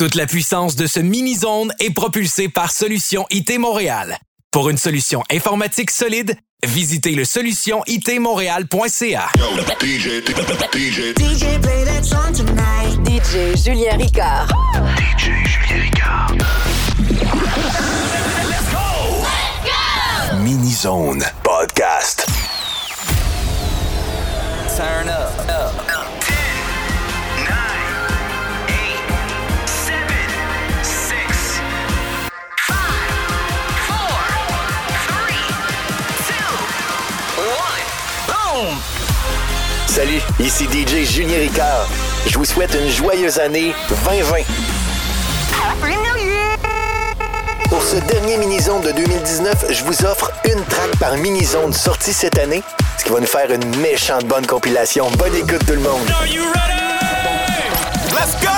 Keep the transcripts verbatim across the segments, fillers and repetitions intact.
Toute la puissance de ce mini-zone est propulsée par Solution I T Montréal. Pour une solution informatique solide, visitez le solution I T montréal point c a. D J, D J, D J, play that song tonight. D J Julien Ricard. D J Julien Ricard. Let's go! Let's go! Mini-zone podcast. Turn up, up. Salut, ici D J Julien Ricard. Je vous souhaite une joyeuse année vingt vingt. Happy New Year! Pour ce dernier mini-zone de deux mille dix-neuf, je vous offre une track par mini-zone sortie cette année, ce qui va nous faire une méchante bonne compilation. Bonne écoute tout le monde! Are you ready? Let's go!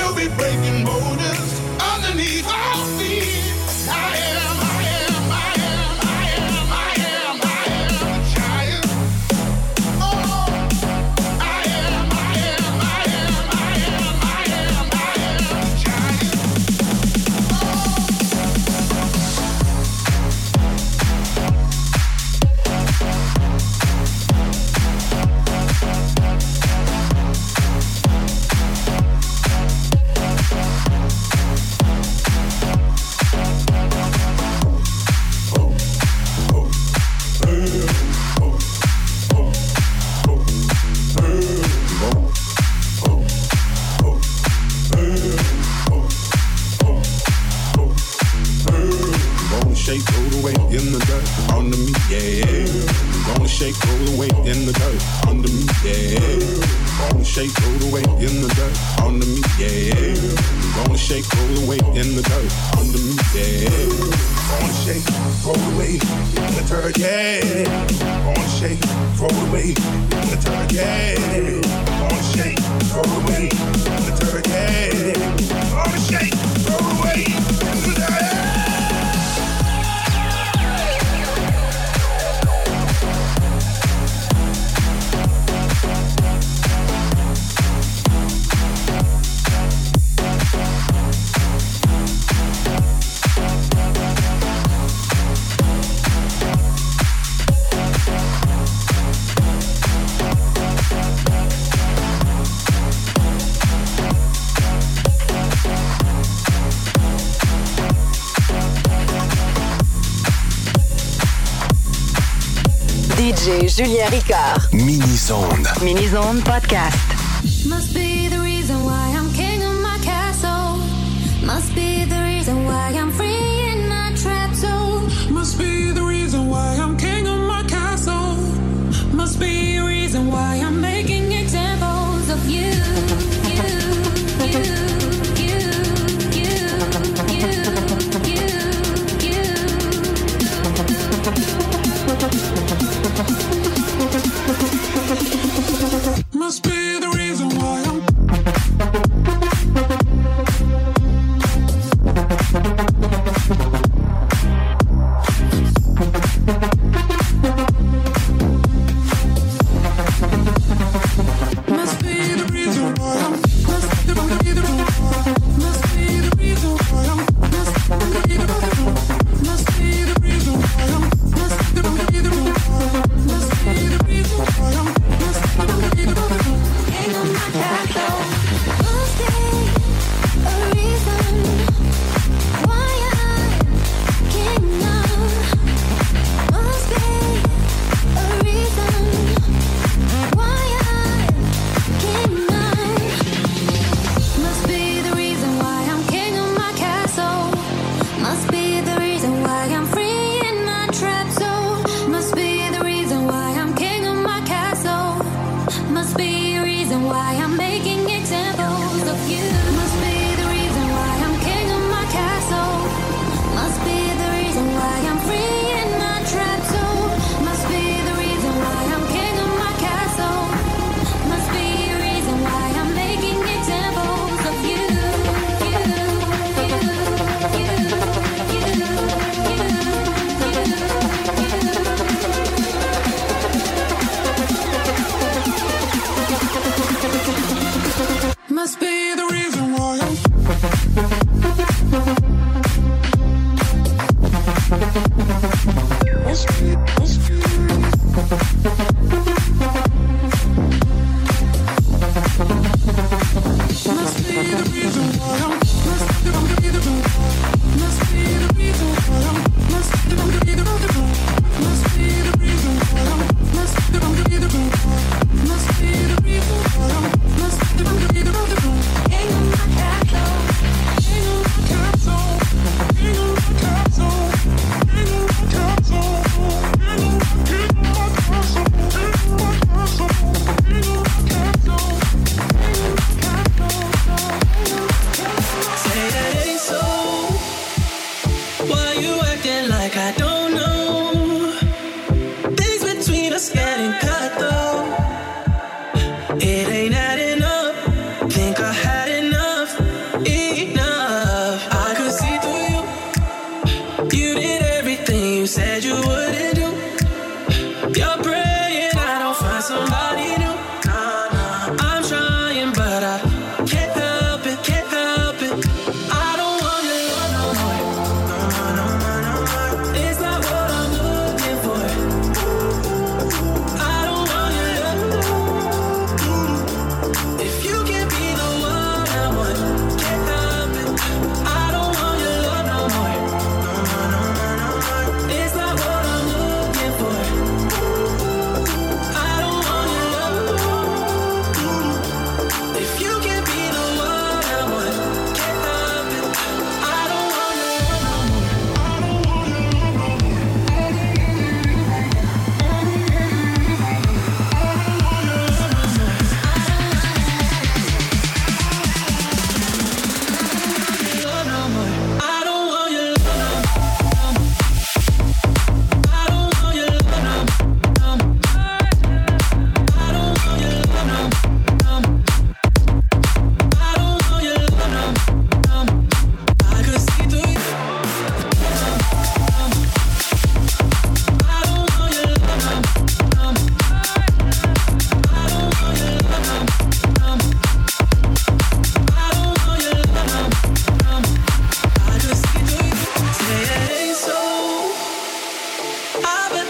Breaking borders underneath our feet. I am, I am, I am. weight in the dirt under me, yeah. Gonna shake, roll the weight in the dirt under me, yeah. Gonna shake, roll the weight in the dirt under me, yeah. Gonna shake, roll the weight in the dirt under me, yeah. Gonna shake, roll the weight in the dirt, yeah. Gonna shake, roll the weight in the dirt, yeah. Gonna shake, roll the weight in the dirt, yeah. Gonna shake, roll the weight in the dirt. D J Julien Ricard. Mini-zone. Mini-zone podcast. Must be the reason why I'm king of my castle. Must be the reason why I'm free in my trap zone. Must be the reason why I'm king of my castle. Must be the reason why I'm making examples of you. You, you, you, you, you, you, you. Must be the reason why I'm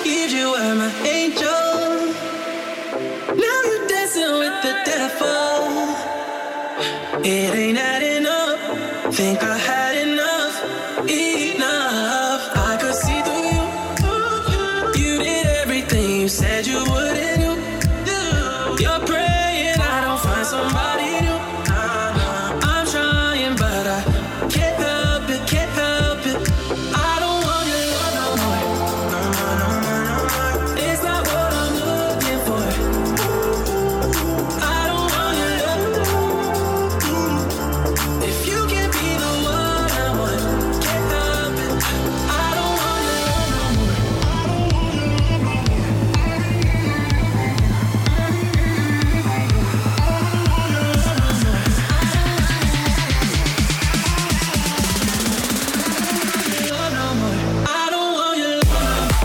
believed you were my angel. Now you're dancing with the devil. It ain't adding up. Think I had enough, enough. I could see through you. You did everything you said you wouldn't do. You're praying I don't find somebody new. I'm trying, but I can't help it, can't help it. I don't want your love no more. No more, no more, no more. It's not what I'm looking for. I don't want your love. If you can't be the one I want, can't help it. I don't want your love no more. I don't want your love.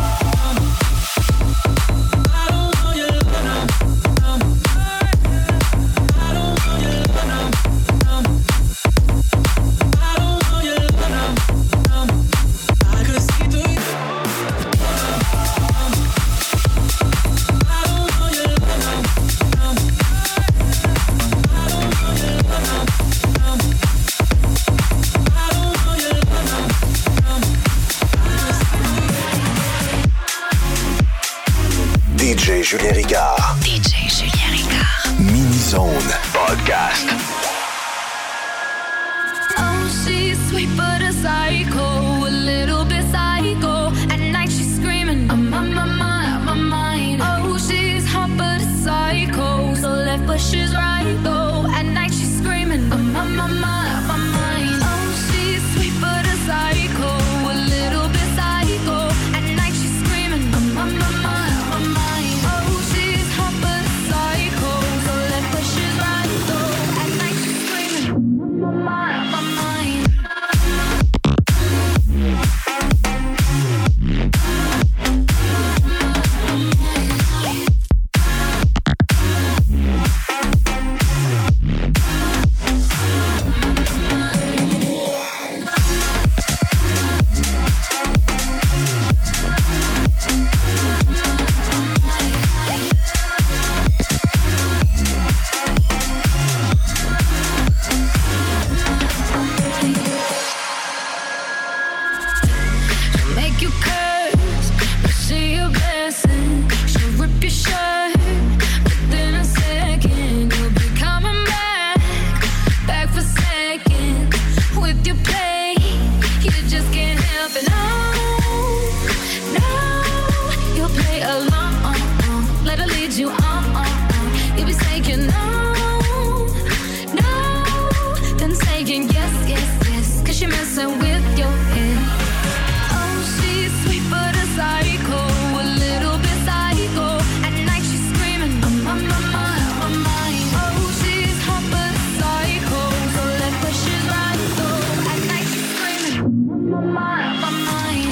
I don't want your love no more. I don't want your love no more. I don't want your love no more. I could see through you. I don't want your love no more. I don't want your love no more. I don't want your love no more. D J Julien Ricard. D J Julien Ricard. Mini-Zone Podcast. Oh, she's sweet but a psycho, a little bit psycho. At night she's screaming, I'm on my mind, on my mind. Oh, she's hot but a psycho, so left but she's right though. At night she's screaming, I'm on my mind, on my mind. Oh, she's sweet but a psycho, a little bit psycho. At night she's screaming, I'm on my mind, on my mind. Oh, she's hot but a psycho, so left but she's right though. At night she's screaming, I'm on my mind, on my mind. Make you curse, but see your blessing. She'll rip your shirt within a second. You'll be coming back, back for seconds. With your play, you just can't help it. No, no, you'll play along. Let her lead you on. You'll be saying no, no, then saying yes, yes, yes. Cause you're messing with your head. Oh, she's sweet but a psycho, a little bit psycho. At night she's screaming, I'm on my mind, on my mind. Oh, she's hot but a psycho, so left but she's right though. At night she's screaming, I'm on my mind, on my mind.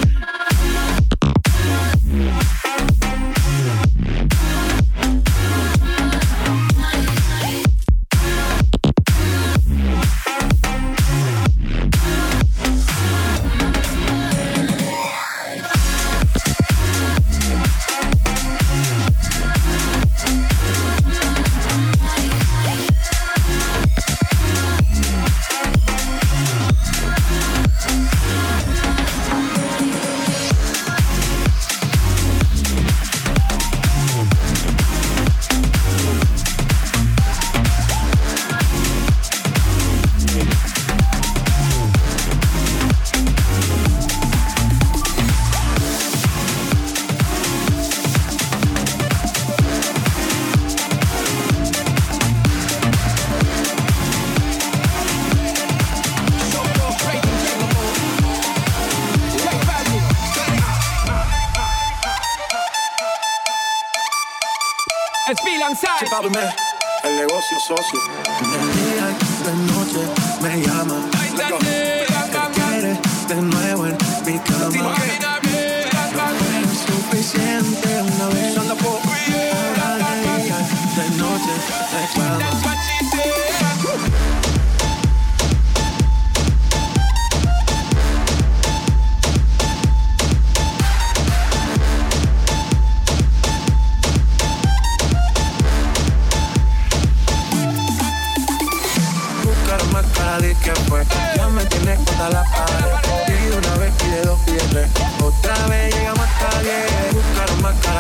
El negocio socio. De día y de noche me llama. Te quiere de nuevo en mi cama. No fue suficiente una vez. Ahora de día y de noche reclama.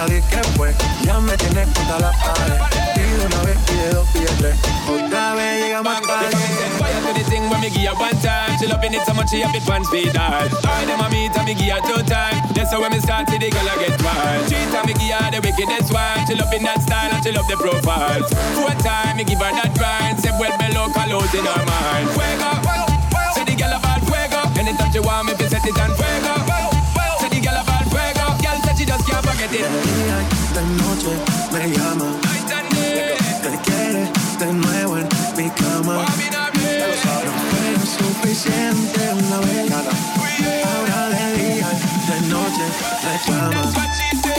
di que fue. Ya me tienes contra la pared. Pide una vez, pide dos, pide tres. Otra vez llegamos a tarde. Fire to the thing when me give her one time. She loving it so much she have it one speed dial. All them a meet and me give her two time. That's how when me start to the girl I get wild. Three time me give her the wickedest one. She loving that style and she love the profile. Four time me give her that grind. Say well below colors in her mind. Fuego, say the girl about fuego. Anytime she want me to set it on fuego. Say the girl about fuego. Girl said she just can't forget it. De noche me llama. Te quiere de nuevo en mi cama. No fue suficiente una vez. Ahora de día, de noche reclama.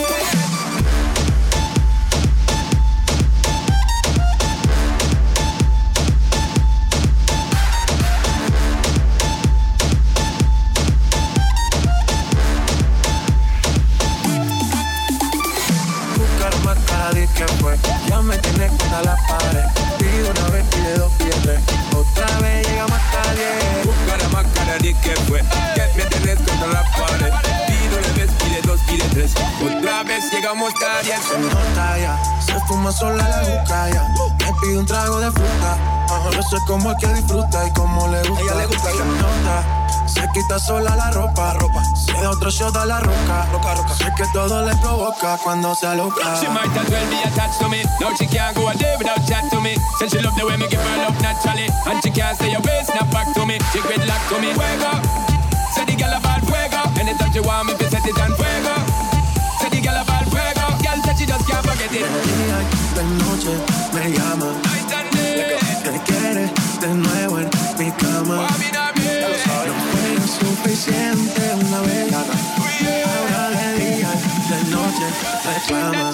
Que fue, ya me tienes contra la pared. Pide una vez, pide dos, pide tres. Otra vez llegamos hasta diez. Buscar más cara de que fue, que me tienes contra la pared. Pide una vez, pide dos, pide tres. Otra vez llegamos hasta diez. Se nota ya, se fuma sola la juca ya. Me pide un trago de fruta. Uh-huh. Yo sé cómo es que disfruta y cómo le gusta. Ella le gusta, se nota. Se quita sola la ropa, ropa. Se da otro shot a la roca, roca, roca. Sé que todo le provoca cuando se aloca. She might as well be attached to me. Now she can't go a day without chat to me. Since she love the way me give her love naturally. And she can't stay away, snap back to me. She grid lock to me. Fuego, say the girl about fuego. Anytime she want me to set it on fuego. Say the girl about fuego. Girl said she just can't forget it. De noche me llama. Te quiere de nuevo en mi cama. No fue suficiente una vez. Ahora de día, de noche reclama.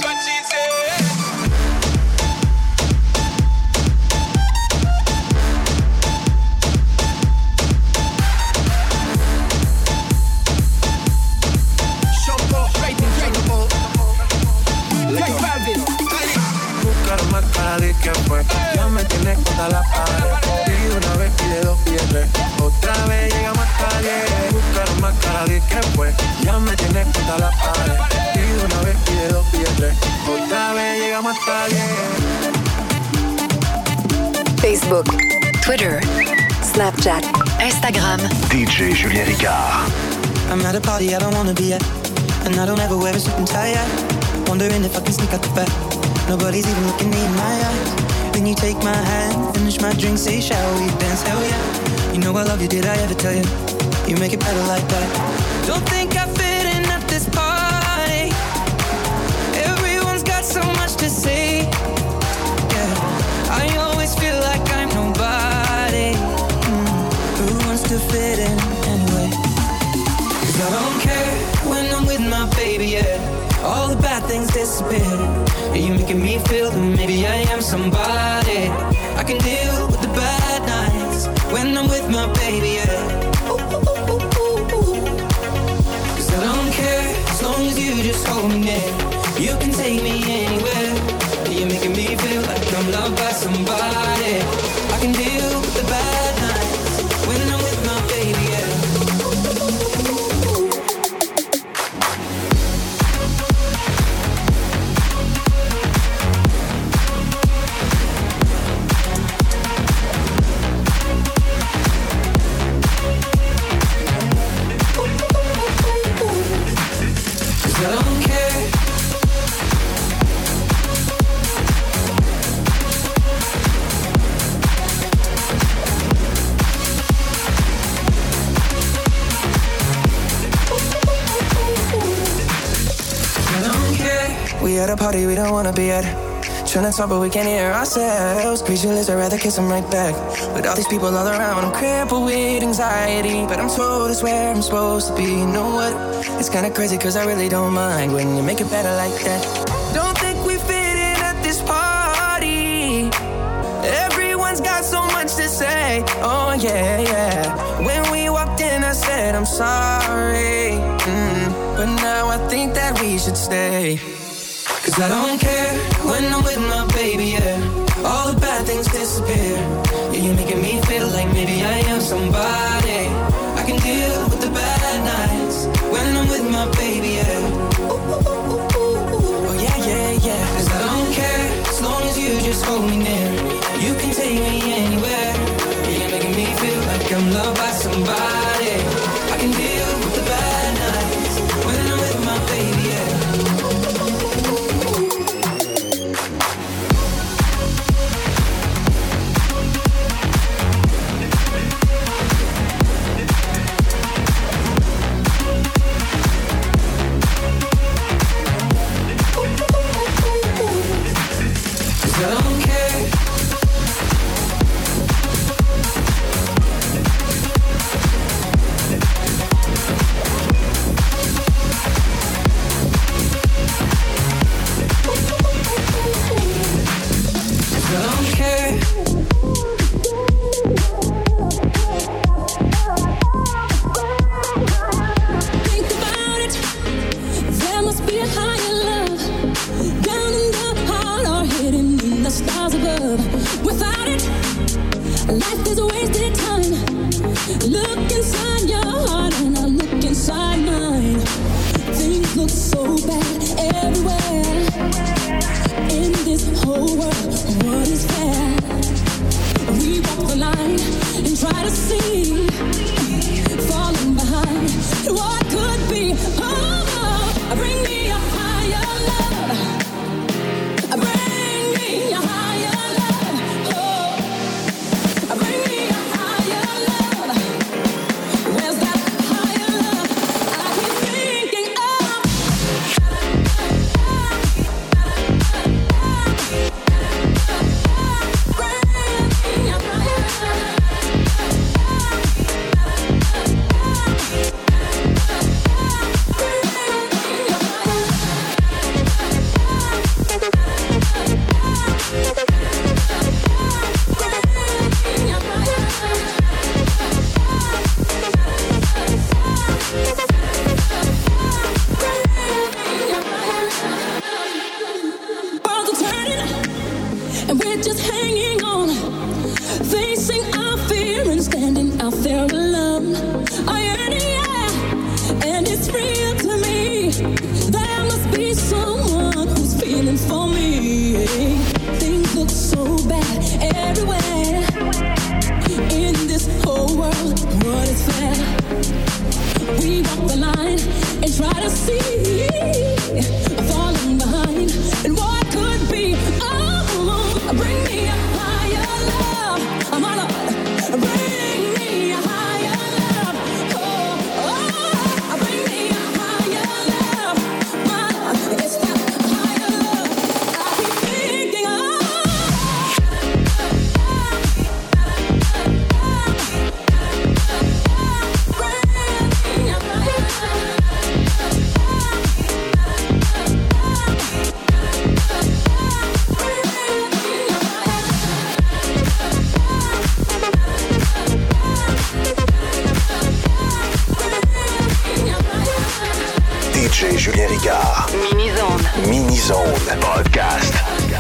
Buscar más cara de que fue. Ya me tienes contra la pared. Pide una vez, pide dos, pide tres. Otra vez llegamos hasta diez. Buscar más cara de que fue. Ya me tienes contra la pared. Pide una vez, pide dos, pide tres. Otra vez llegamos hasta diez. Facebook, Twitter, Snapchat, Instagram. D J Julien Ricard. I'm at a party I don't wanna be at, and I don't ever wear a suit and tie yet. Wondering if I can sneak out the back. Nobody's even looking me in my eyes. Then you take my hand, finish my drink, say shall we dance? Hell yeah. You know I love you, did I ever tell you? You make it better like that. Don't think I fit in at this party. Everyone's got so much to say. Yeah, I always feel like I'm nobody. Mm. Who wants to fit in anyway? 'Cause I don't care when I'm with my baby, yeah. All the bad things disappear. You're making me feel that maybe I am somebody. I can deal with the bad nights when I'm with my baby, yeah. Ooh, ooh, ooh, ooh, ooh. 'Cause I don't care as long as you just hold me near. You can take me anywhere. You're making me feel like I'm loved by somebody. I can deal with the bad nights when I'm with my baby, yeah. We at a party we don't wanna be at. Trying to talk but we can't hear ourselves. Speechless, I'd rather kiss them right back. With all these people all around, I'm crippled with anxiety. But I'm told it's where I'm supposed to be. You know what? It's kinda crazy cause I really don't mind when you make it better like that. Don't think we fit in at this party. Everyone's got so much to say. Oh yeah, yeah. When we walked in I said I'm sorry. Mm, but now I think that we should stay. Cause I don't care when I'm with my baby, yeah. All the bad things disappear. Yeah, you're making me feel like maybe I am somebody. I can deal with the bad nights when I'm with my baby, yeah. Ooh, ooh, ooh, ooh, ooh. anytime. Look inside your heart and I look inside mine. Things look so bad everywhere. In this whole world, what is fair? We walk the line and try to see, falling behind what could be. Oh, bring me a higher love. Bring me a higher love. Oh, bring me a higher love. Where's that higher love? I keep thinking of. Bring me a Worlds are turning, and we're just hanging on, facing our fear and standing out there alone. I yearn, yeah, and it's real to me. There must be someone who's feeling for me. Things look so bad everywhere. In this whole world, what is fair? We walk the line and try to see, falling behind, and what could be. Oh, bring me a higher love. I'm all up. Bring me a higher love. Oh, oh, bring me a higher love. My, it's that higher love. I keep thinking of. D J Julien Ricard. Mini-zone. Mini-zone. Podcast.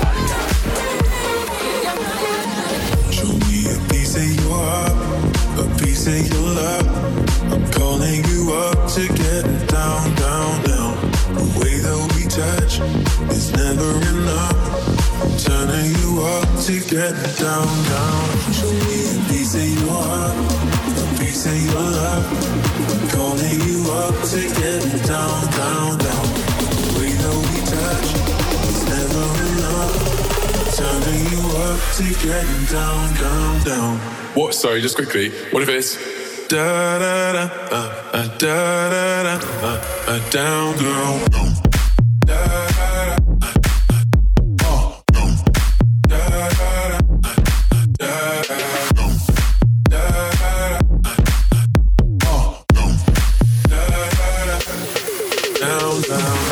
Show me a piece of your heart, a piece of your love. I'm calling you up to get down, down, down. The way that we touch is never enough. I'm turning you up to get down, down. Show me a piece of your heart, a piece of your love. I'm calling you up to get down, down, down. The way that we touch is never enough. Turning you up to getting down, down, down. What? Sorry, just quickly. What if it's da da da uh, uh, da da da uh, uh, down, girl. Da da da uh, uh, da da da da da da down, down.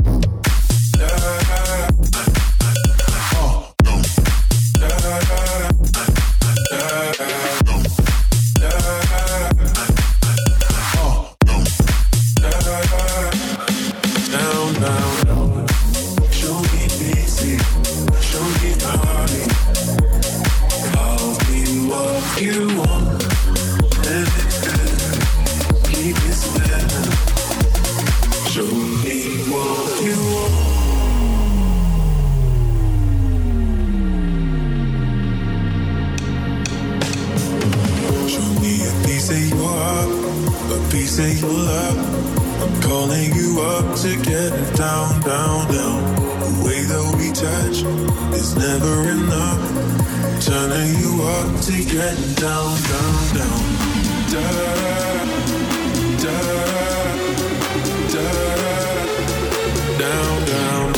Say your love, I'm calling you up to get down, down, down. The way that we touch is never enough. Turning you up to get down, down, down. Da da da da down, down.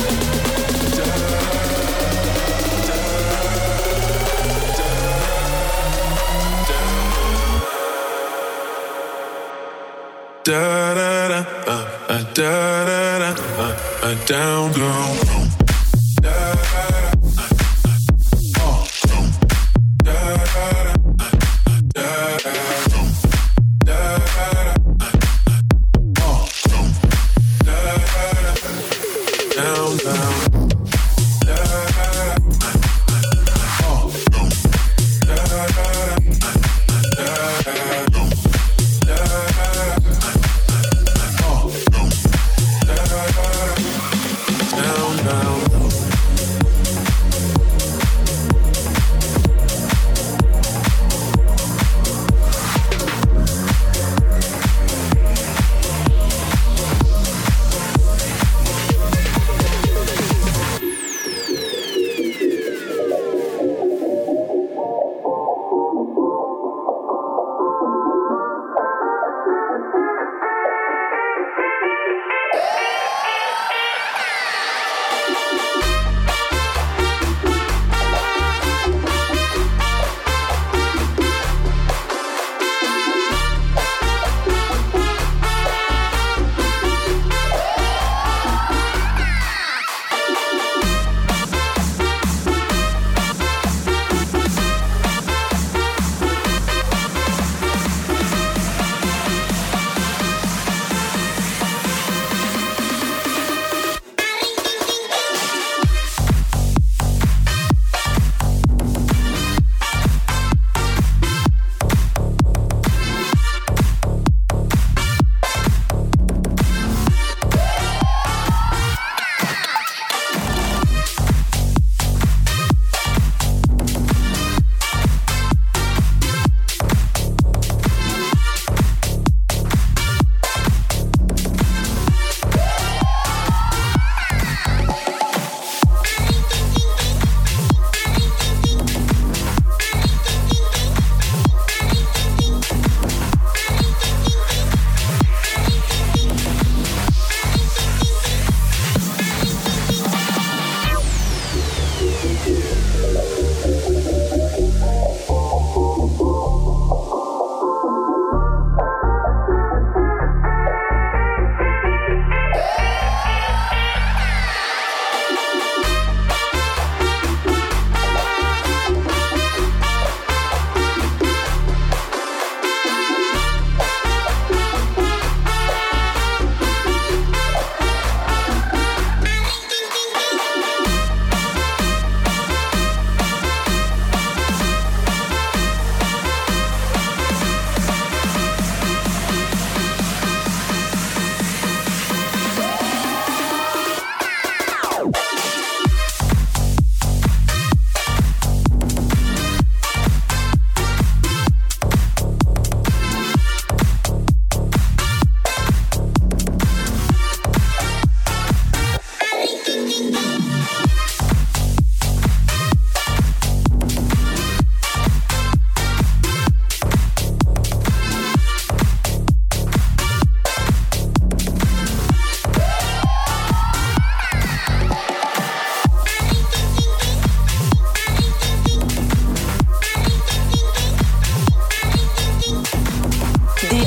Da da da, uh, uh, da da da, uh, uh, down, girl. Da da da, uh, uh, da da da, da da da, uh, da da da, down, down. Da da da, uh, uh, da da da, da da.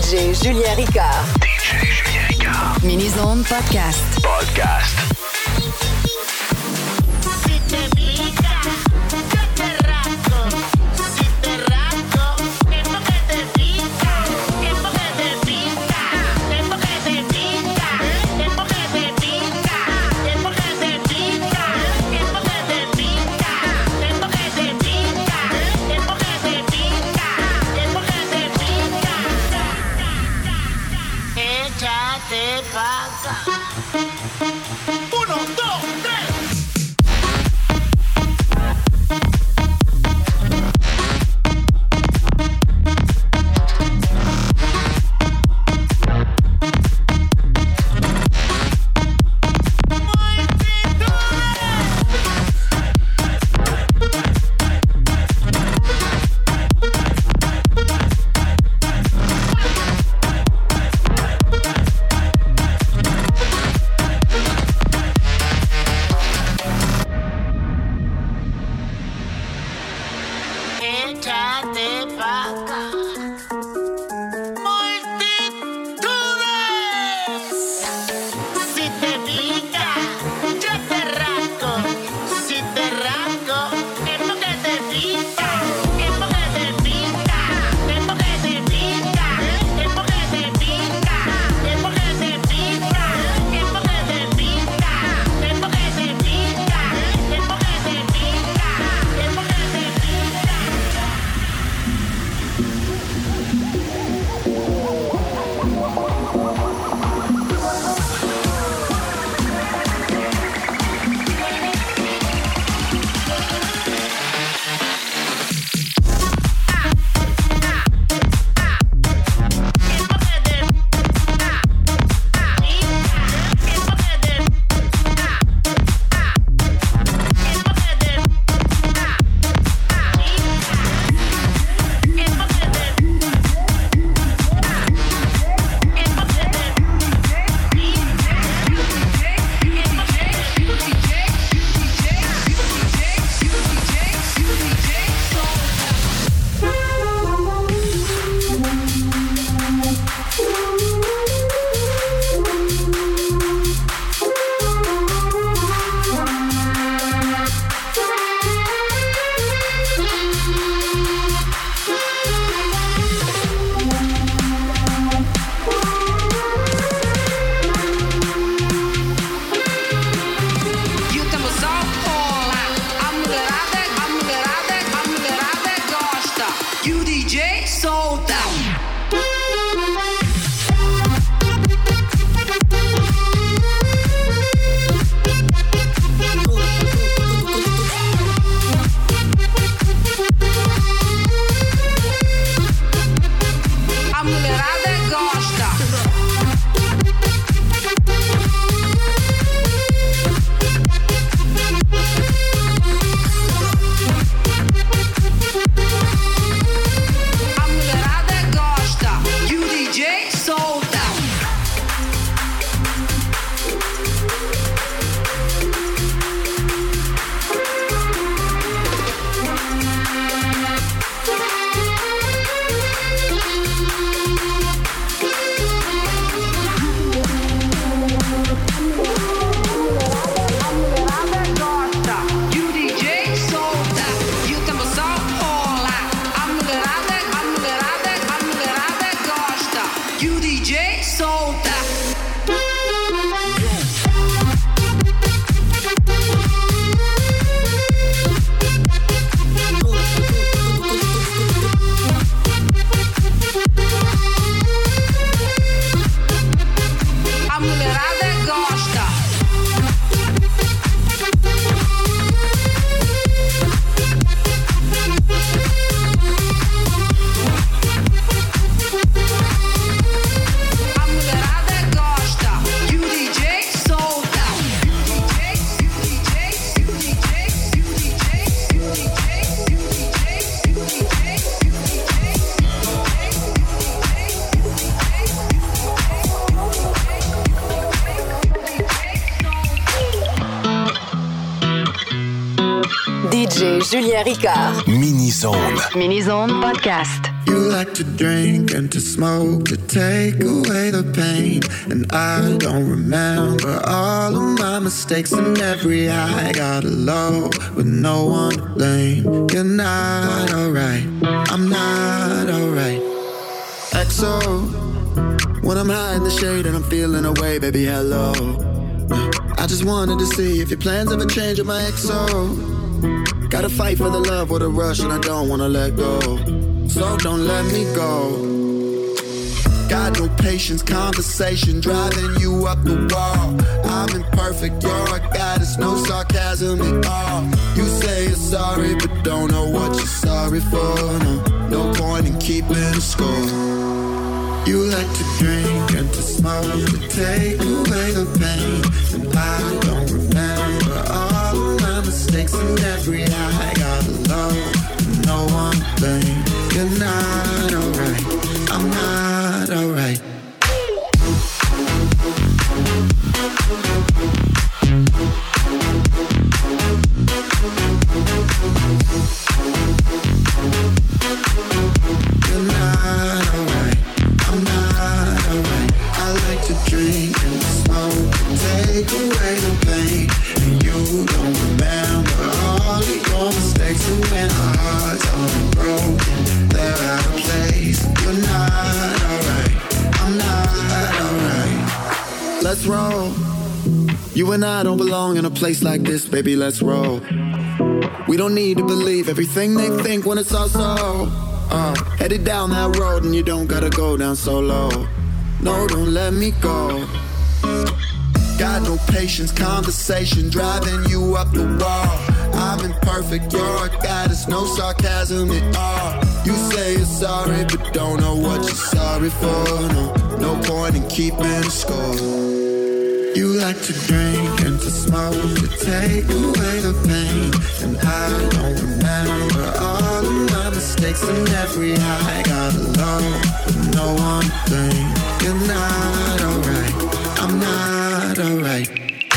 J Julien Ricard. D J Julien Ricard. Mini Zone Podcast. Podcast. D J Julien Ricard. Mini Zone. Mini Zone Podcast. You like to drink and to smoke to take away the pain. And I don't remember all of my mistakes and every high. Got alone with no one to blame. You're not alright, I'm not alright. X O, when I'm high in the shade and I'm feeling away, baby, hello. I just wanted to see if your plans ever change with my X O. Gotta fight for the love or the rush and I don't wanna let go. So don't let me go. Got no patience, conversation driving you up the wall. I'm imperfect, you're a goddess, no sarcasm at all. You say you're sorry, but don't know what you're sorry for. No, no point in keeping score. You like to drink and to smoke to take away the pain. And I don't remember all of my mistakes and every high. Got alone, no one to blame. You're not alright, I'm not alright. You're not alright, I'm not alright. I like to drink and smoke and take away the pain. And you don't remember all of your mistakes. And when our hearts are broken, they're out of place. You're not alright, I'm not alright. Let's roll. You and I don't belong in a place like this, baby, let's roll. We don't need to believe everything they think when it's all so. Uh, headed down that road and you don't gotta go down so low. No, don't let me go. Got no patience, conversation driving you up the wall. I'm imperfect, you're a goddess, no sarcasm at all. You say you're sorry, but don't know what you're sorry for. No, no point in keeping score. You like to drink and to smoke to take away the pain. And I don't remember all of my mistakes and every high. Got alone with no one to blame. You're not alright, I'm not alright.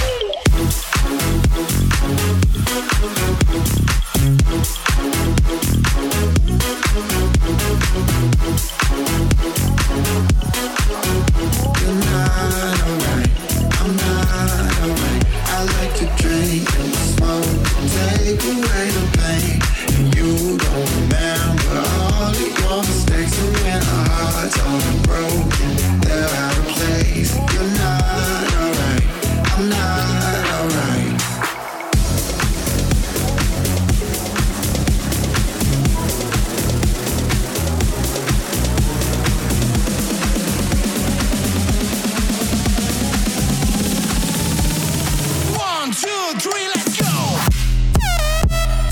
You're not alright, I'm not alright. I like to drink and smoke, take away the pain. And you don't remember all of your mistakes. And when our hearts are broken, they're out of place. You're not alright, I'm not alright. One, two, three, let's go!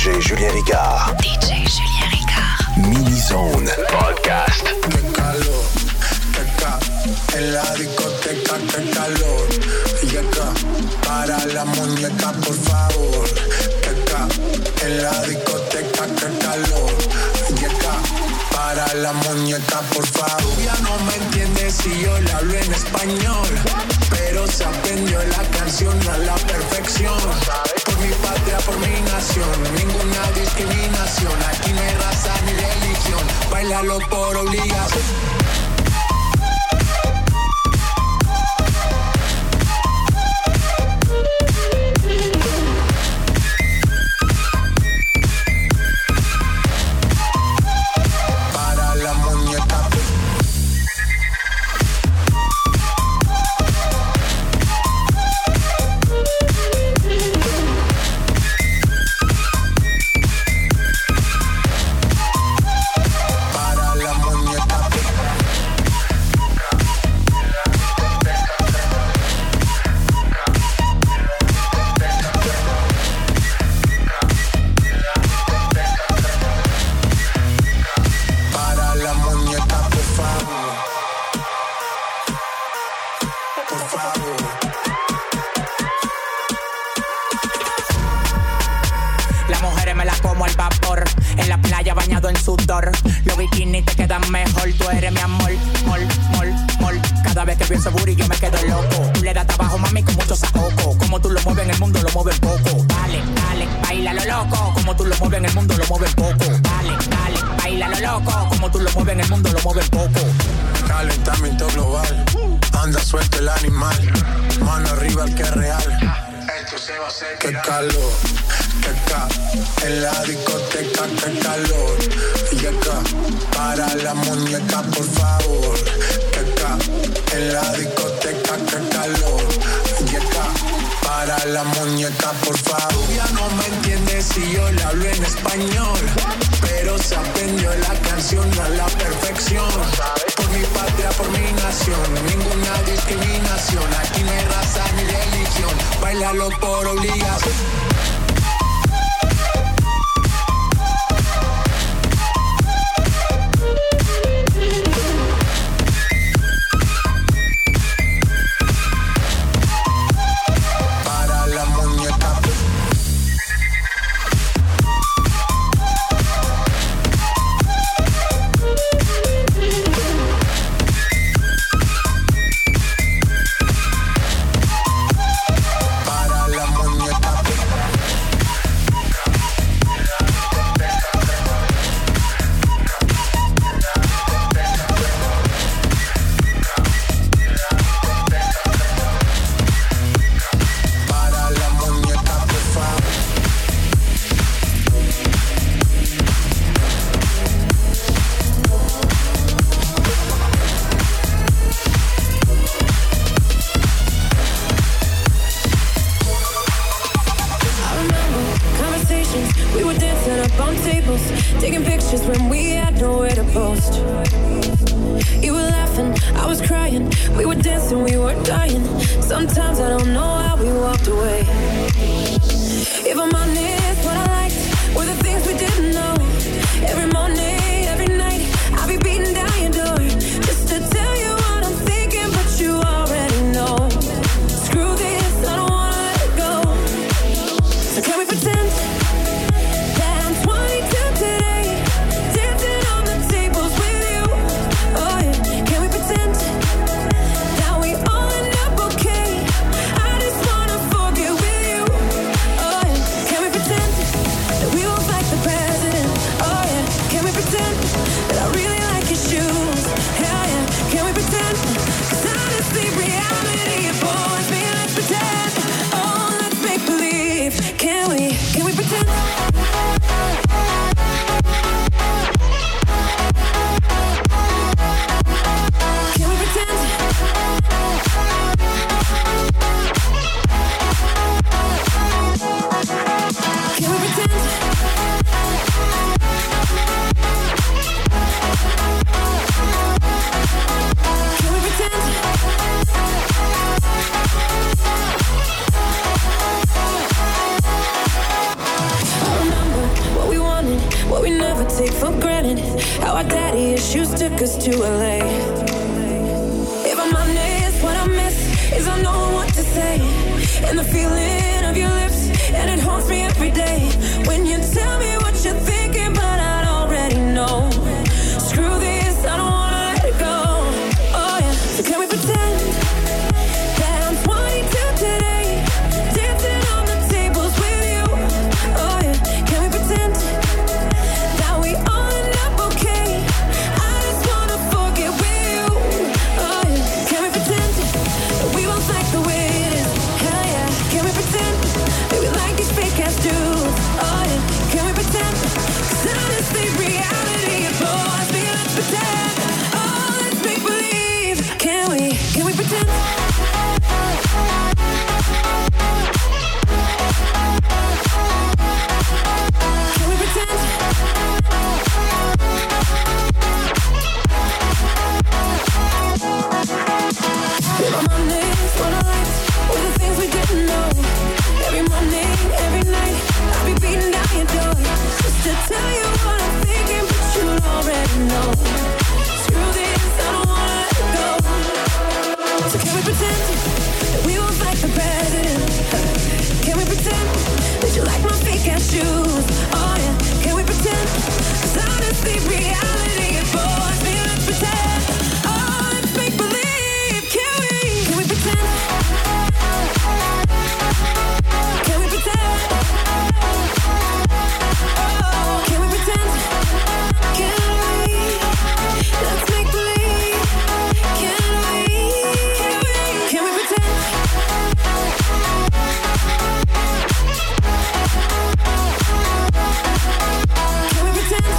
J Julien Ricard. D J Julien Ricard. Mini-Zone Podcast. Qué calor, qué ca, en la discoteca, qué calor. Y acá, para la muñeca, por favor. Qué ca, en la discoteca, qué calor. Y acá, para la muñeca, por favor. Ya no me entiende si yo le hablo en español, pero se aprendió la canción a la perfección. Por mi patria, por mi nación, ninguna discriminación. Aquí no hay raza ni religión, bailalo por obligación. take for granted how our daddy issues took us to L A. If I'm honest, what I miss is I know what to say, and the feeling of your lips, and it haunts me every day. When you tell me what you're thinking, but I already know. Screw this, I don't wanna let it go. Oh yeah, so can we pretend that I'm twenty-two today, dancing on the tables with you? Oh yeah, can we pretend that we all end up okay? I just wanna forget with you. Oh yeah, can we pretend that we both like the way it is? Hell yeah, can we pretend that we like these fake ass dudes? Oh yeah, can we pretend? 'Cause honestly, reality is bores me. Let's pretend. Oh, let's make believe. Can we? Can we pretend? Can we pretend? If I'm honest, what I liked were the things we didn't know. Every morning, every night, I'll be beating down your door just to tell you what I'm thinking, but you already know. Screw this, I don't wanna let it go. So can we pretend that we won't fight the president? Can we pretend that you like my fake ass shoes? Oh yeah, can we pretend? 'Cause honestly, reality is bores me. Let's pretend. Oh, let's make believe. Can we? Can we pretend? Can we pretend? Oh, can we pretend? Can we? Let's make believe. Can we? Can we? Can we pretend? Can we pretend?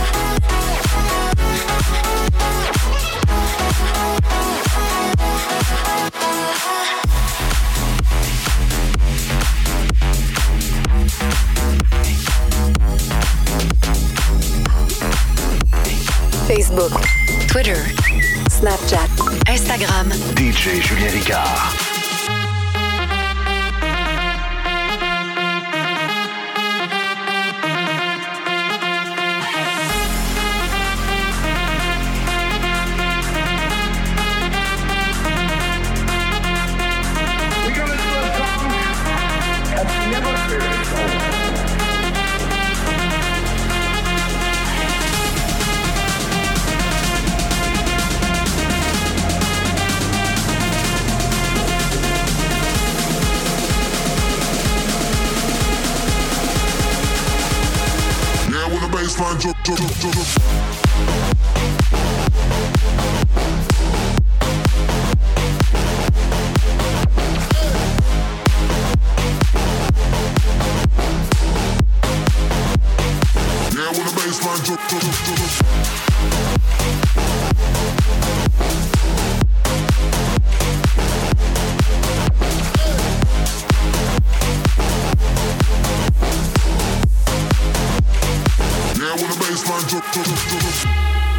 Facebook, Twitter, Snapchat, Instagram. D J Julien Ricard. Baseline drop, drop, drop, drop, drop. Yeah, when the baseline drop, drop, drop, drop, drop. Baseline drop, drop, drop, drop.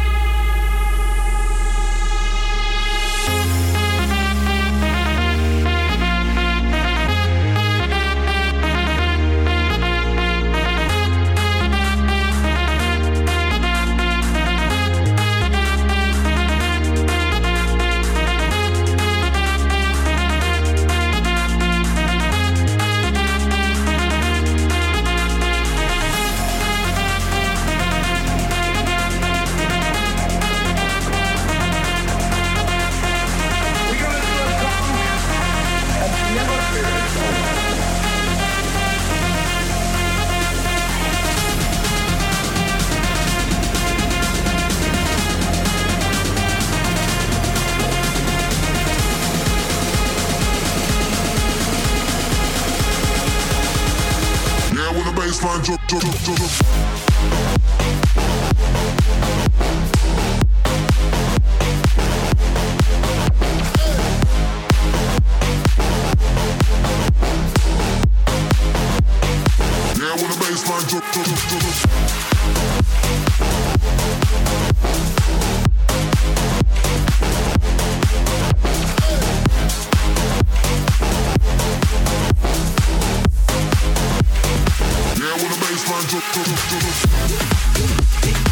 Baseline drop, drop, drop, drop, drop. Yeah, when the baseline drop, drop, drop, drop, drop. Yeah, when the baseline drop, drop, drop, drop.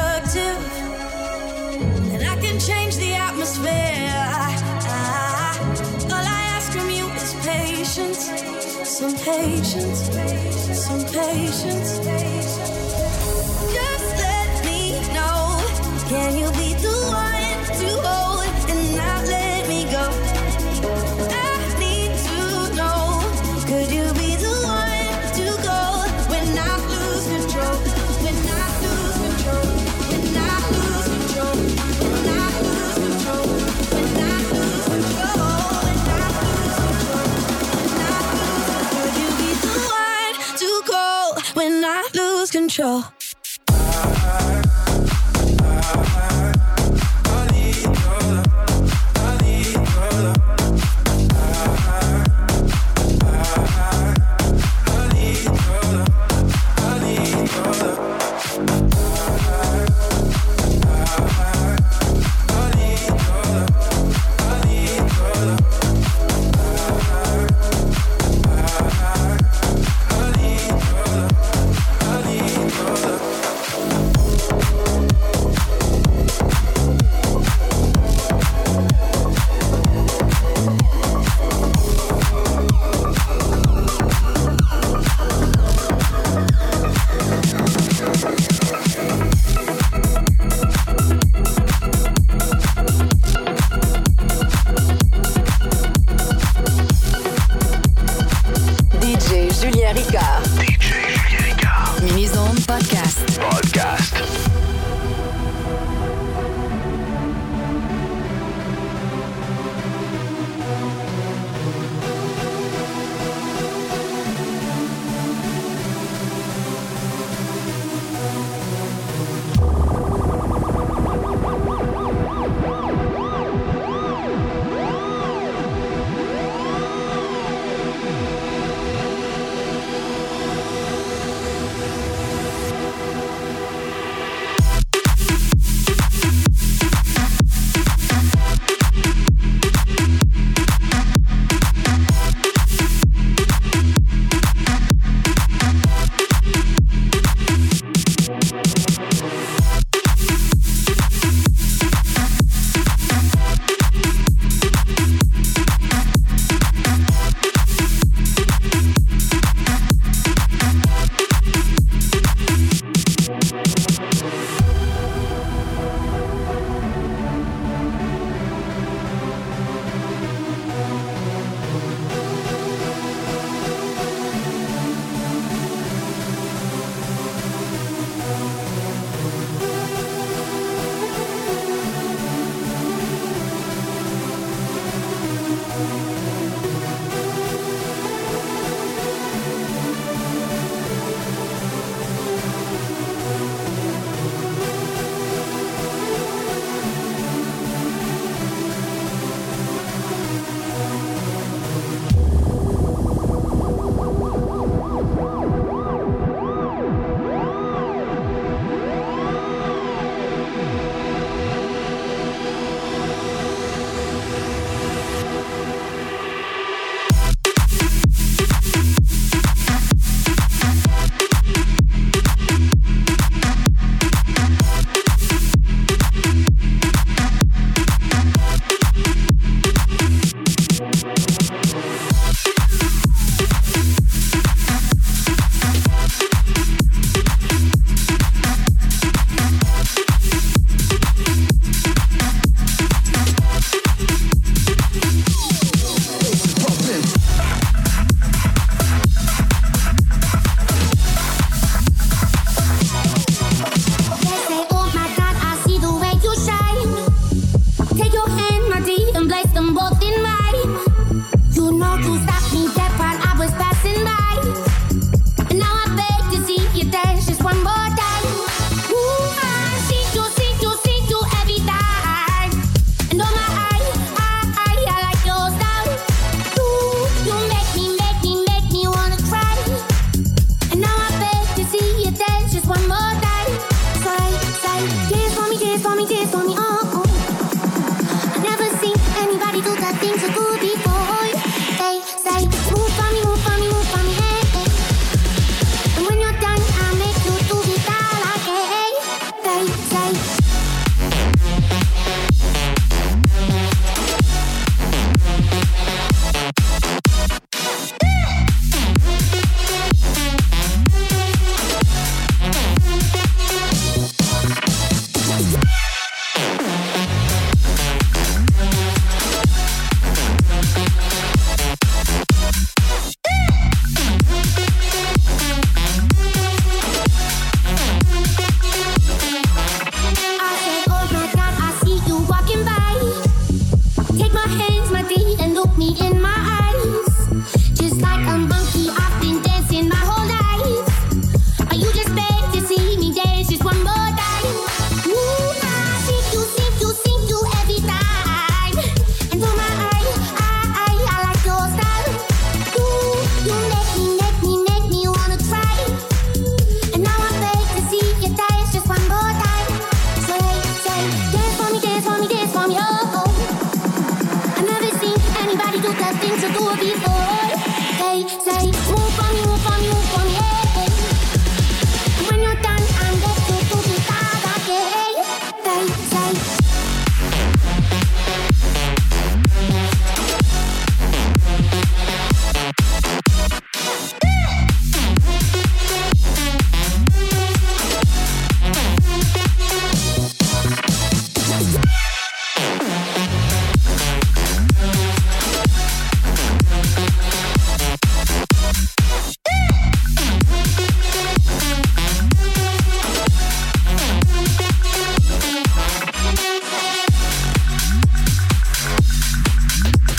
productive, and I can change the atmosphere. I, I, all I ask from you is patience, some patience, some patience. Just let me know, can you be the one to hold and not let me go? I need to know, could you be the one to go when I lose control? When I lose control, when I lose control, when I lose control, when I lose control, when I lose control, when I lose, could you be the one to go when I lose control?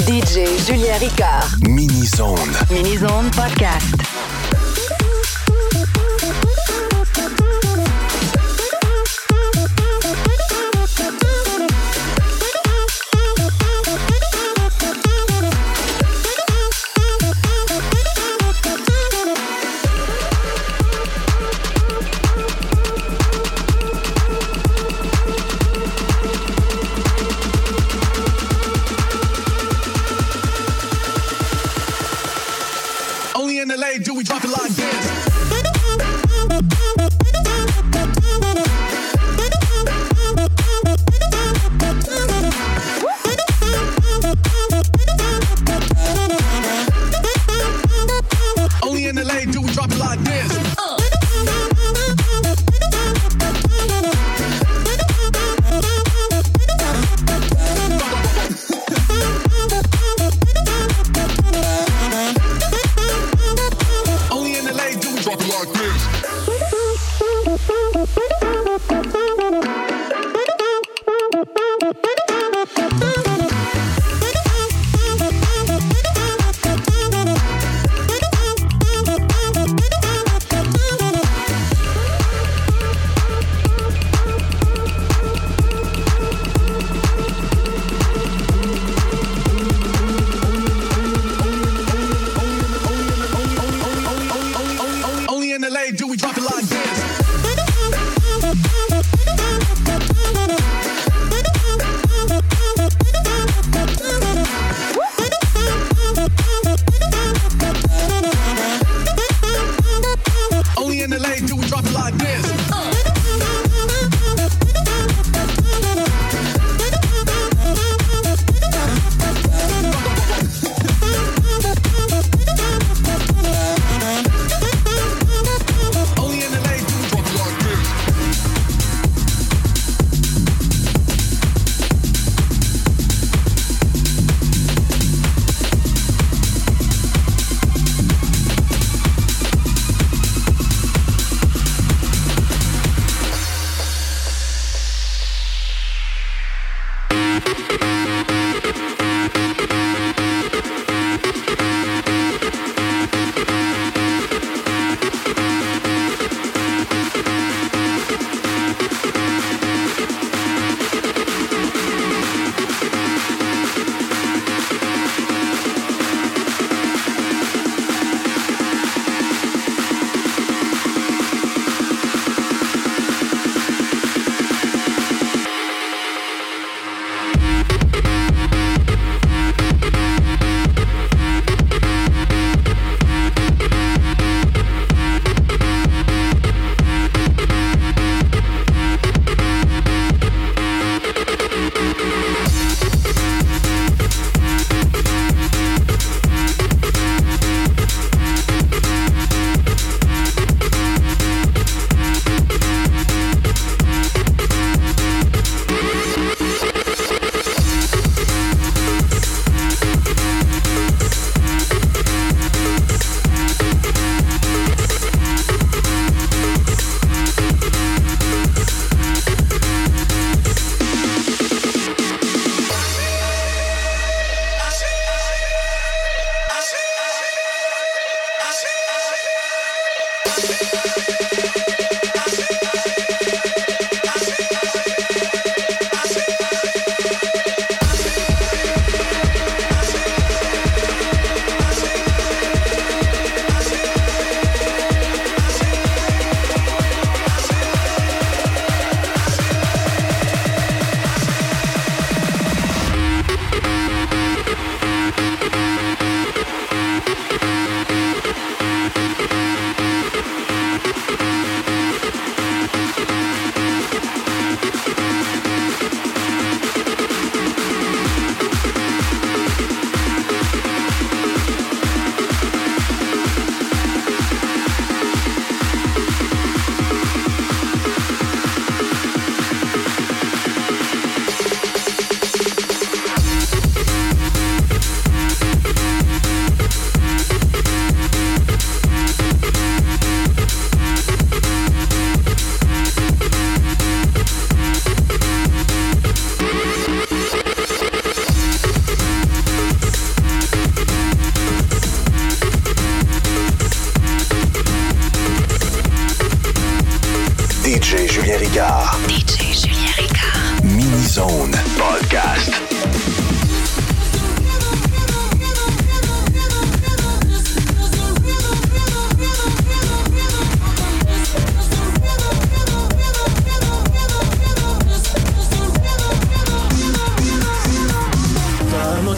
D J Julien Ricard. Mini-Zone. Mini-Zone Podcast. Only in the late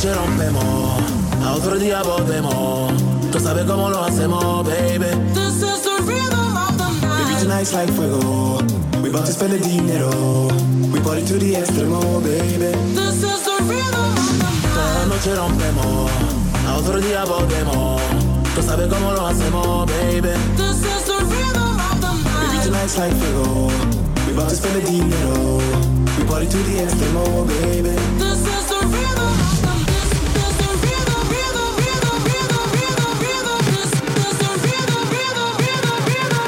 noche rompemos, a otro día volvemos. Tú sabes cómo lo hacemos, baby. This is the rhythm of the night. Baby, tonight's like fuego. We bout to spend the dinero. We party to the extremo, baby. This is the rhythm of the night. Toda la noche rompemos, a otro día volvemos. Tú sabes cómo lo hacemos, baby. This is the rhythm of the night. Baby, tonight's like fuego. We bout to spend the dinero. We party to the extremo, baby. This is the rhythm of the night. This is the rhythm, rhythm, rhythm, rhythm, rhythm, rhythm. This is the rhythm, rhythm, rhythm, rhythm,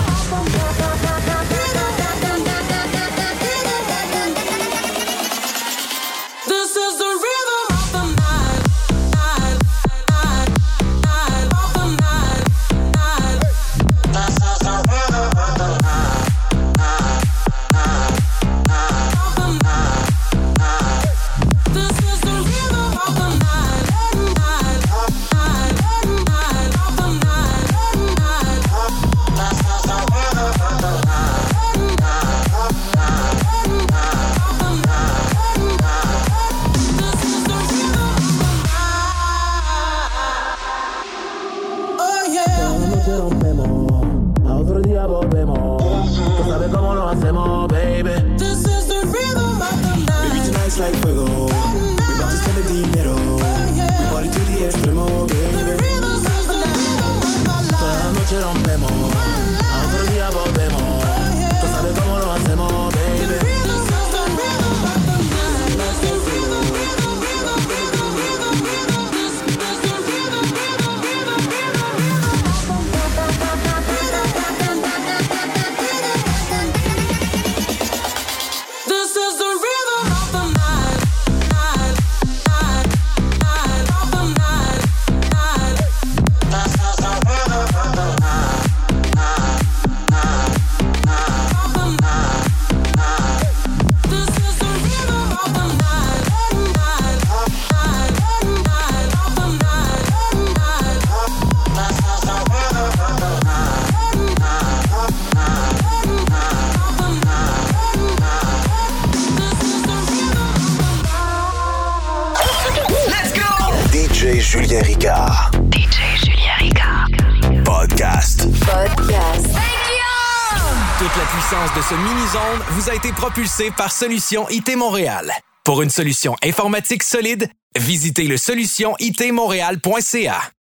rhythm. This is the rhythm of the night, night, night, night of the night, night. This is the rhythm of the night, night, night, night of the night, night. This is the rhythm of the night, night, night, night of the night, night. This is the rhythm of the night, night, night, night of the night, night. This is the rhythm of the night. Oh yeah. Toda la noche rompemos, a otro día volvemos. Tú sabes cómo lo hacemos, baby. This is the rhythm of the night. Baby, tonight's like fuego. We bout to spend the dinero. We party to the extremo, baby. Toda la noche rompemos, a otro día volvemos. Tú sabes cómo lo hacemos, baby. This is the rhythm of the night, night, night, night of the night, night. This is the rhythm of the night, night, night, night of the night, night. This is the rhythm of the night, night, night, night of the night, night. This is the rhythm of the night, night, night, night of the night, night. Let's go! D J Julien Ricard. D J Julien Ricard. Podcast. Podcast. Toute la puissance de ce mini-zone vous a été propulsée par Solution I T Montréal. Pour une solution informatique solide, visitez le solution I T montréal point C A.